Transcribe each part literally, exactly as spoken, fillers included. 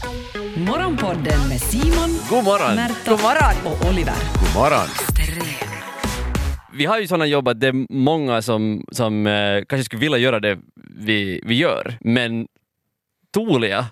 Morgonpodden med Simon, God morgon. Märta God morgon. och Oliver. God morgon. Vi har ju sådana jobb att det är många som, som eh, kanske skulle vilja göra det vi, vi gör. Men Tuulia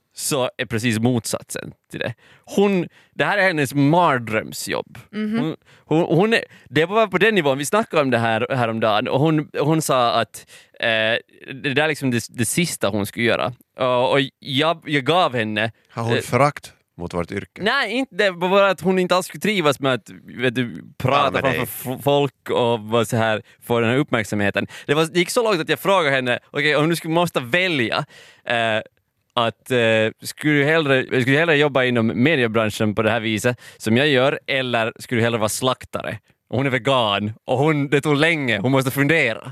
så är precis motsatsen till det. Hon, det här är hennes mardrömsjobb. Mm-hmm. Hon, hon, hon är, det var på den nivån, vi snackade om det här häromdagen och hon, hon sa att eh, det där är liksom det, det sista hon skulle göra. Och, och jag, jag gav henne... Har hon eh, förakt mot vårt yrke? Nej, inte det var bara att hon inte alls skulle trivas med att vet du, prata ja, framför f- folk och var så här, få den här uppmärksamheten. Det, var, det gick så långt att jag frågade henne, okej, okay, om du skulle måste välja eh, att eh, skulle, du hellre, skulle du hellre jobba inom mediebranschen på det här viset som jag gör, eller skulle du hellre vara slaktare? Och hon är vegan och hon, det tog länge, hon måste fundera.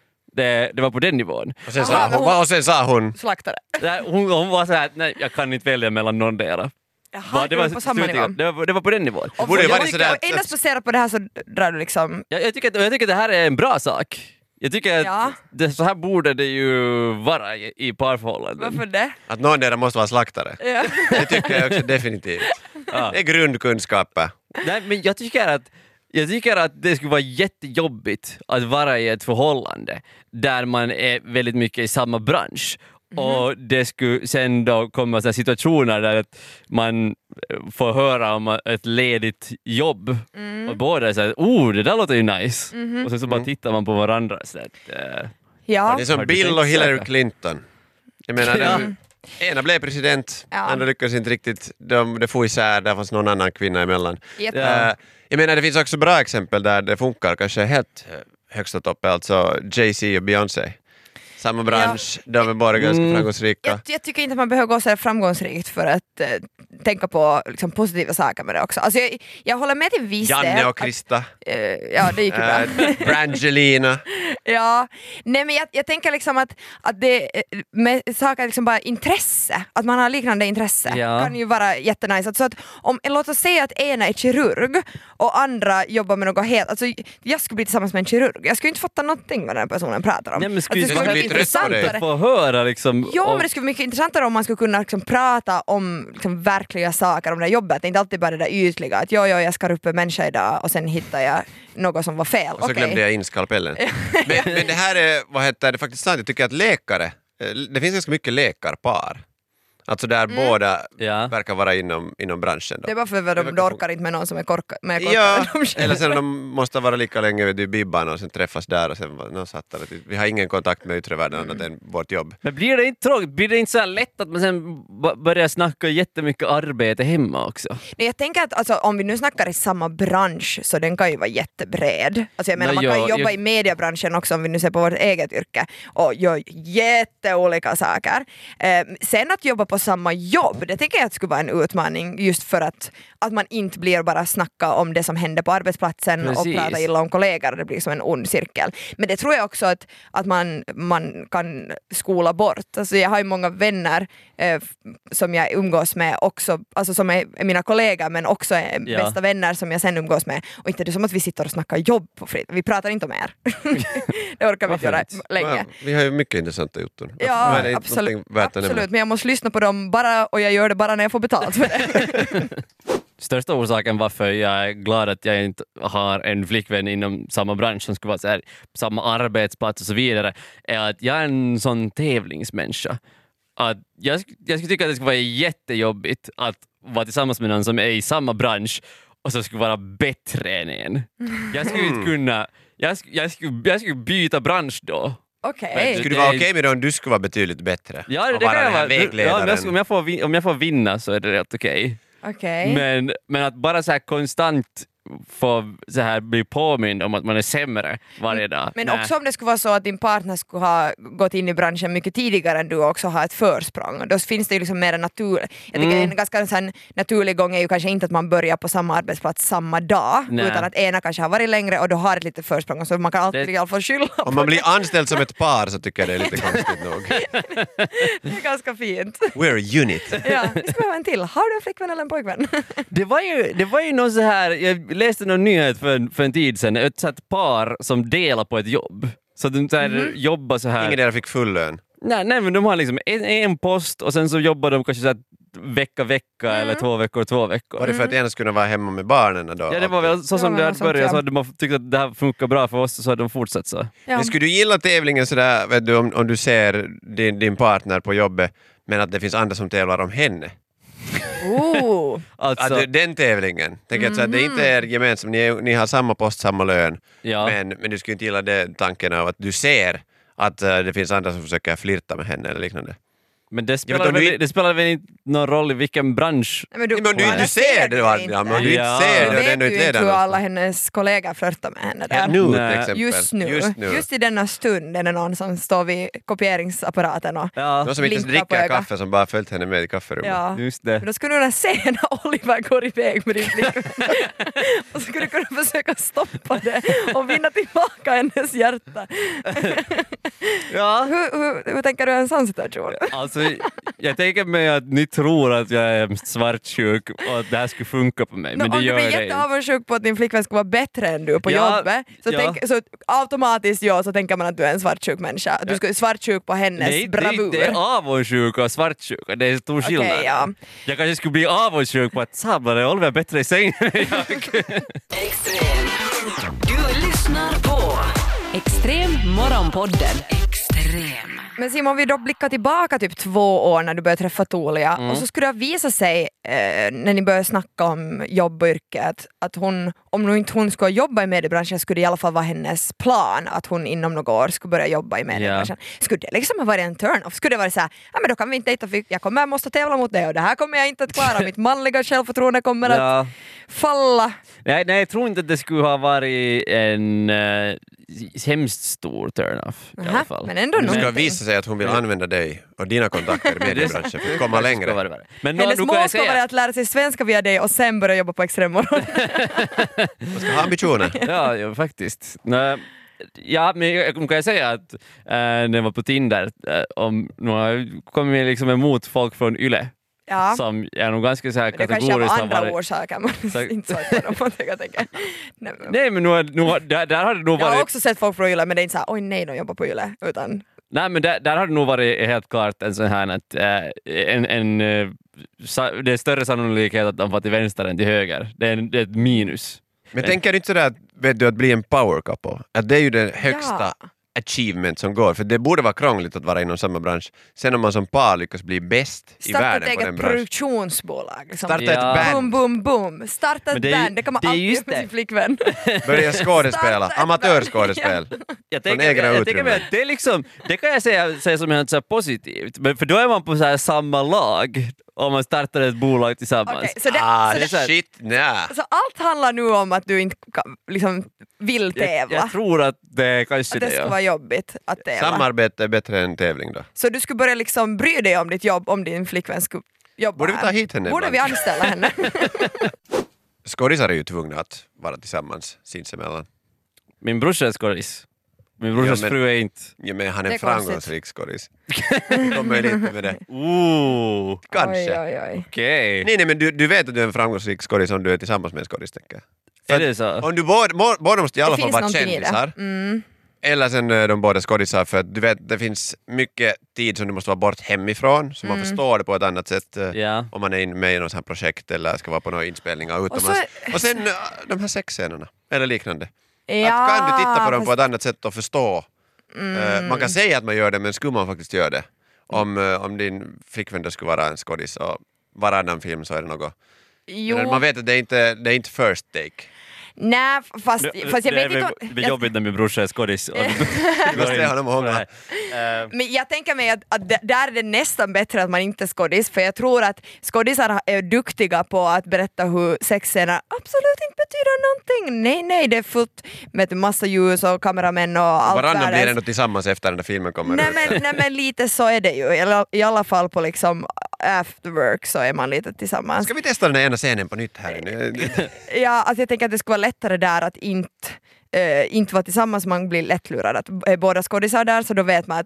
Det, det var på den nivån. Och sen, sa hon, och sen sa hon... Slaktare. Nej, hon, hon var så här, nej, jag kan inte välja mellan någon del. Jaha, det var på samma nivå. Det var, det var på den nivån. Och, borde och, vara och, sådär och endast baserat på det här så drar du liksom... Jag, jag, tycker att, jag tycker att det här är en bra sak. Jag tycker att Ja. det, så här borde det ju vara i, i parförhållanden. Varför det? Att någon där måste vara slaktare. Ja. Det tycker jag också definitivt. Ja. Det är grundkunskaper. Nej, men jag tycker att Jag tycker att det skulle vara jättejobbigt att vara i ett förhållande där man är väldigt mycket i samma bransch. Mm. Och det skulle sen då komma så situationer där att man får höra om ett ledigt jobb. Mm. Och båda säger, oh, det där låter ju nice. Mm. Och sen så bara tittar man på varandra. Så att, uh, Ja. Det är som Bill och Hillary Clinton. Jag menar, Ja. den, ena blev president, Ja. andra lyckades inte riktigt. De, det får isär, där fanns någon annan kvinna emellan. Yep. Ja. Uh, jag menar, det finns också bra exempel där det funkar, kanske helt högst upp, alltså Jay-Z och Beyoncé. Samma bransch, ja. De är bara ganska Mm. framgångsrika. Jag, jag tycker inte att man behöver gå så här framgångsrikt för att eh, tänka på liksom, positiva saker med det också. Alltså, jag, jag håller med till viss del. Janne och Krista. Att, eh, ja, det gick ju bra. Uh, Brangelina. Ja, nej men jag, jag tänker liksom att, att det med saker liksom bara intresse, att man har liknande intresse Ja. kan ju vara jättenice. Alltså att om, låt oss säga att ena är kirurg och andra jobbar med något helt, alltså jag skulle bli tillsammans med en kirurg, jag skulle inte fatta någonting vad den personen pratar om. Nej, men skulle Alltså, det skulle skulle bli bli trött på dig. att få höra liksom... Ja, om- men det skulle vara mycket intressantare om man skulle kunna liksom prata om liksom verkliga saker om det här jobbet. Det är inte alltid bara det där ytliga, att jo, jo, jag ska upp en människa idag och sen hittar jag något som var fel. Och så Okej. glömde jag in skalpellen. men, men det här är, vad heter det, faktiskt sant. Jag tycker att läkare, eh, det finns ganska mycket läkarpar. Alltså där båda Ja. verkar vara inom, inom branschen. Då. Det är bara för att Det de, verkar de orkar inte med någon som är korka, mer korkad Ja, än de själva. eller sen de måste vara lika länge vid Bibban och sen träffas där och sen no, sattar det. Vi har ingen kontakt med yttre världen annat än vårt jobb. Men blir det inte tråkigt? Blir det inte så här lätt att man sen b- börjar snacka jättemycket arbete hemma också? Nej, jag tänker att alltså, om vi nu snackar i samma bransch så den kan ju vara jättebred. Alltså jag menar, Nå, man kan ja, ju jobba jag- i mediebranschen också om vi nu ser på vårt eget yrke och gör jätteolika saker. Eh, sen att jobba på samma jobb, det tänker jag att skulle vara en utmaning just för att, att man inte blir bara snacka om det som händer på arbetsplatsen Precis. och prata illa om kollegor, det blir som en ond cirkel. Men det tror jag också att, att man, man kan skola bort. Alltså jag har ju många vänner eh, som jag umgås med också, alltså som är, är mina kollegor men också är Ja. bästa vänner som jag sen umgås med. Och inte det är som att vi sitter och snackar jobb på frit. Vi pratar inte om er. Det orkar vi inte göra fint. länge. Ja, vi har ju mycket intressanta jutton. Ja, Men det är inte absolut, någonting värt att nämna. absolut. Men jag måste lyssna på dem bara och jag gör det bara när jag får betalt för det. Största orsaken varför jag är glad att jag inte har en flickvän inom samma bransch som skulle vara så här, samma arbetsplats och så vidare är att jag är en sån tävlingsmänniska. Att jag, sk- jag skulle tycka att det skulle vara jättejobbigt att vara tillsammans med någon som är i samma bransch och som skulle vara bättre än en. Jag skulle inte kunna... Jag, sk- jag, skulle, jag skulle byta bransch då. Okej. Skulle det vara okej med det om du skulle vara betydligt bättre? Ja, det, och det vara kan jag den här vara. Ja, vägledaren? om, jag, ska- om, jag får, vin- om jag får vinna så är det rätt okej. Okej. Men, men att bara så här konstant få så här bli påmind om att man är sämre varje dag. Men Nej. också om det skulle vara så att din partner skulle ha gått in i branschen mycket tidigare än du också har ett försprång. Då finns det ju liksom mer naturligt. Jag tycker Mm. en ganska så här naturlig gång är ju kanske inte att man börjar på samma arbetsplats samma dag. Nej. Utan att ena kanske har varit längre och då har ett litet försprång. Så man kan alltid Det- i alla fall skylla på Om man blir anställd som ett par så tycker jag det är lite konstigt nog. det. är ganska fint. We're a unit. Ja, vi ska behöva en till. Har du en flickvän eller en pojkvän? Det var ju, det var ju någon så här, jag läste någon nyhet för, en- för en tid sedan, ett sånt par som delar på ett jobb. Så de så här, jobbar så här. Ingen där fick full lön. Nej, nej, men de har liksom en, en post och sen så jobbar de kanske så här vecka, vecka mm. eller två veckor, två veckor. Var det för att ena skulle vara hemma med barnen då? Ja, det var väl så som ja, det hade börjat. ja. Så hade man tyckt att det här funkar bra för oss så hade de fortsatt så. Ja. Men skulle du gilla tävlingen sådär, vet du, om, om du ser din, din partner på jobbet men att det finns andra som tävlar om henne? Oh. Alltså, Att den tävlingen. Tänk att så att det inte är gemensamt, ni, ni har samma post, samma lön. ja. Men, men du skulle inte gilla det tanken av att du ser att uh, det finns andra som försöker flirta med henne eller liknande. Men det Ja, spelar, men väl, du- det spelar väl inte någon roll i vilken bransch. Nej, men du, Nej, men du, alla du ser det, va? inte. Ja, men du Ja. inte ser Du det och det är vet nog ju inte inte leder hur alla någonstans. hennes kollegor flörtar med henne där. Ja, nu Nej. till exempel. Just nu. Just nu. Just i denna stund är det någon som står vid kopieringsapparaten och Ja, Någon som inte ens blinkar på dricker ögat. kaffe som bara följt henne med i kafferummet. ja. just det. Men då skulle du kunna se när Oliver går iväg med din flickvän. Och så skulle du kunna försöka stoppa det och vinna tillbaka hennes hjärta. Ja. Hur, hur, hur tänker du i en sån situation? Alltså, jag tänker mig att ni tror att jag är svartsjuk och att det här skulle funka på mig, No, men det om du gör blir det inte. jätteavundsjuk på att din flickvän ska vara bättre än du på Ja, jobbet, så, ja. tänk, så automatiskt ja, så tänker man att du är en svartsjuk människa. Att du ska svartsjuk på hennes Nej, bravur. det, det är avundsjuka och svartsjuka, det är stor skillnad. Okej, ja. Jag kanske skulle bli avundsjuk på att sablar är Oliver bättre i sängen än jag. Extrem. Du lyssnar på Extrem morgonpodden. Extrem. Men Simon, vi då blickar tillbaka typ två år när du började träffa Tuulia Mm. och så skulle det visa sig eh, när ni började snacka om jobb och yrke att, att hon, om nu inte hon skulle jobba i mediebranschen skulle det i alla fall vara hennes plan att hon inom några år skulle börja jobba i mediebranschen. Skulle det liksom ha varit en turn-off? Skulle det vara så här, ja men då kan vi inte dejta för jag kommer måste tävla mot det och det här kommer jag inte att klara, mitt manliga självförtroende kommer att Ja. falla. Nej, nej, jag tror inte att det skulle ha varit en uh, hemskt stor turn-off i alla Aha, fall. men ändå Det ska någonting. visa sig att hon vill använda dig och dina kontakter i mediebranschen för att komma Ska längre. vara värre. Men nu, Hennes nu kan mål jag ska vara säga, att lära sig svenska via dig och sen börja jobba på Extremmorgon. Man ska ha ambitioner. ja, ja, faktiskt. Nej, ja, men jag kan jag säga att äh, när jag var på Tinder, äh, om nu har jag kommit liksom emot folk från Yle Ja. som är nog ganska så här Men det kanske är av kategoriskt har andra varit... orsaker, man Så- inte så på dem. Man tänker, tänker. Nej, men- Nej, men nu, har- nu, har- där, där har det nog Jag har varit... också sett folk från Yle men det är inte såhär oj nej de jobbar på Yle utan Nej, men där, där har det nog varit helt klart en sån här att äh, en, en, äh, sa, det är större sannolikhet att de får till vänster än till höger. Det är, en, det är ett minus. Men tänker du inte sådär att, vet du, att bli en power couple? Att det är ju det högsta Ja. achievement som går. För det borde vara krångligt att vara inom samma bransch. Sen om man som par lyckas bli bäst i starta ett världen på den eget branschen. produktionsbolag. Liksom. Starta Ja. ett Boom, band. boom, boom. Starta Men ett det är ju- band, det kan man det är alltid just göra med det. sin flickvän. Börja skådespela. Starta ett Amatörskådespel. Jag Från tänker, egna jag, jag tänker mig utrymmen. att det är liksom, det kan jag säga, säga som helt så här positivt, men för då är man på så här samma lag om man startar ett bolag tillsammans. Okej, så det, Ah, så det, så här- shit, nja. så allt handlar nu om att du inte kan, liksom, vill jag, tävla. jag tror att det kanske Att det det ska ja. vara jobbigt att tävla. Samarbete är bättre än tävling då. Så du skulle börja liksom bry dig om ditt jobb om din flickvän skulle jobba Borde vi ta här. hit henne Borde ibland? vi anställa henne? Skådisar är ju tvungna att vara tillsammans sinsemellan. Min brorsa är skådis. Min brorsas Ja, men- fru är inte. Ja, men han är Det är en konstigt. framgångsrik skådis. Det kommer ju lite med det. Ooh, Kanske. Oj, oj, oj. okej. Nej, nej, men du, du vet att du är en framgångsrik skådis om du är tillsammans med en skådis, tänker jag. För Är att det så? Om du båda, må- båda måste i alla Det fall finns vara någonting i det. kändisar. Mm. Eller sen är de båda skådisar för att du vet, det finns mycket tid som du måste vara bort hemifrån så man Mm. förstår det på ett annat sätt eh, Ja. om man är in- med i något sånt här projekt eller ska vara på några inspelningar utomlands. så- Och, sen eh, de här sexscenerna eller liknande. Ja, att kan du titta på dem på fast- ett annat sätt och förstå? Eh, man kan säga att man gör det men skulle man faktiskt göra det? Om, eh, om din flickvän då skulle vara en skådis och varannan film så är det något. Jo. Eller man vet att det är inte det är inte first take. Nej, fast, fast jag det vet är inte väl- om... det är jobbigt när min brorsa är skådis. och- Du måste se honom och hångla. Eh, Men jag tänker mig att, att d- där är det nästan bättre att man inte är skådis, för jag tror att skådisar är duktiga på att berätta hur sexscener absolut inte betyder någonting. Nej, nej, det är fullt med massa ljus och kameramän och allt Varannan blir världens- ändå tillsammans efter den där filmen kommer Nej ut. men, nej men lite så är det ju, I alla- i alla fall på liksom after work så är man lite tillsammans. Ska vi testa den här ena scenen på nytt här nu? Ja, alltså jag tänker att det skulle vara lättare där att inte Uh, inte vara tillsammans, man blir lättlurad att är båda skådisar där så då vet man att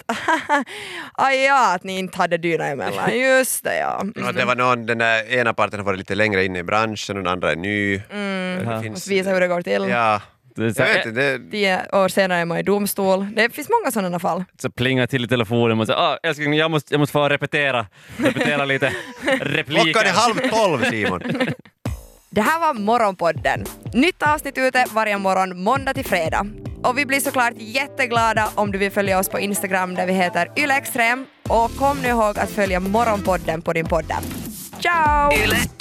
aj ja, att ni inte hade dyna emellan, just det ja. Ja, det var någon, den där ena parten har varit lite längre inne i branschen och den andra är ny. Mm. Det Ja. finns, Måste visa hur det går till. ja, Det är så, Jag vet inte, det, Tio år senare är man i domstol. Det finns många sådana fall. så plingar till i telefonen och säger ah, älskling, jag måste, jag måste få repetera, repetera lite repliker. klockan är halv tolv, Simon. Det här var Morgonpodden. Nytt avsnitt ute varje morgon måndag till fredag. Och vi blir såklart jätteglada om du vill följa oss på Instagram där vi heter yle extrem. Och kom nu ihåg att följa Morgonpodden på din podd. Ciao! Yle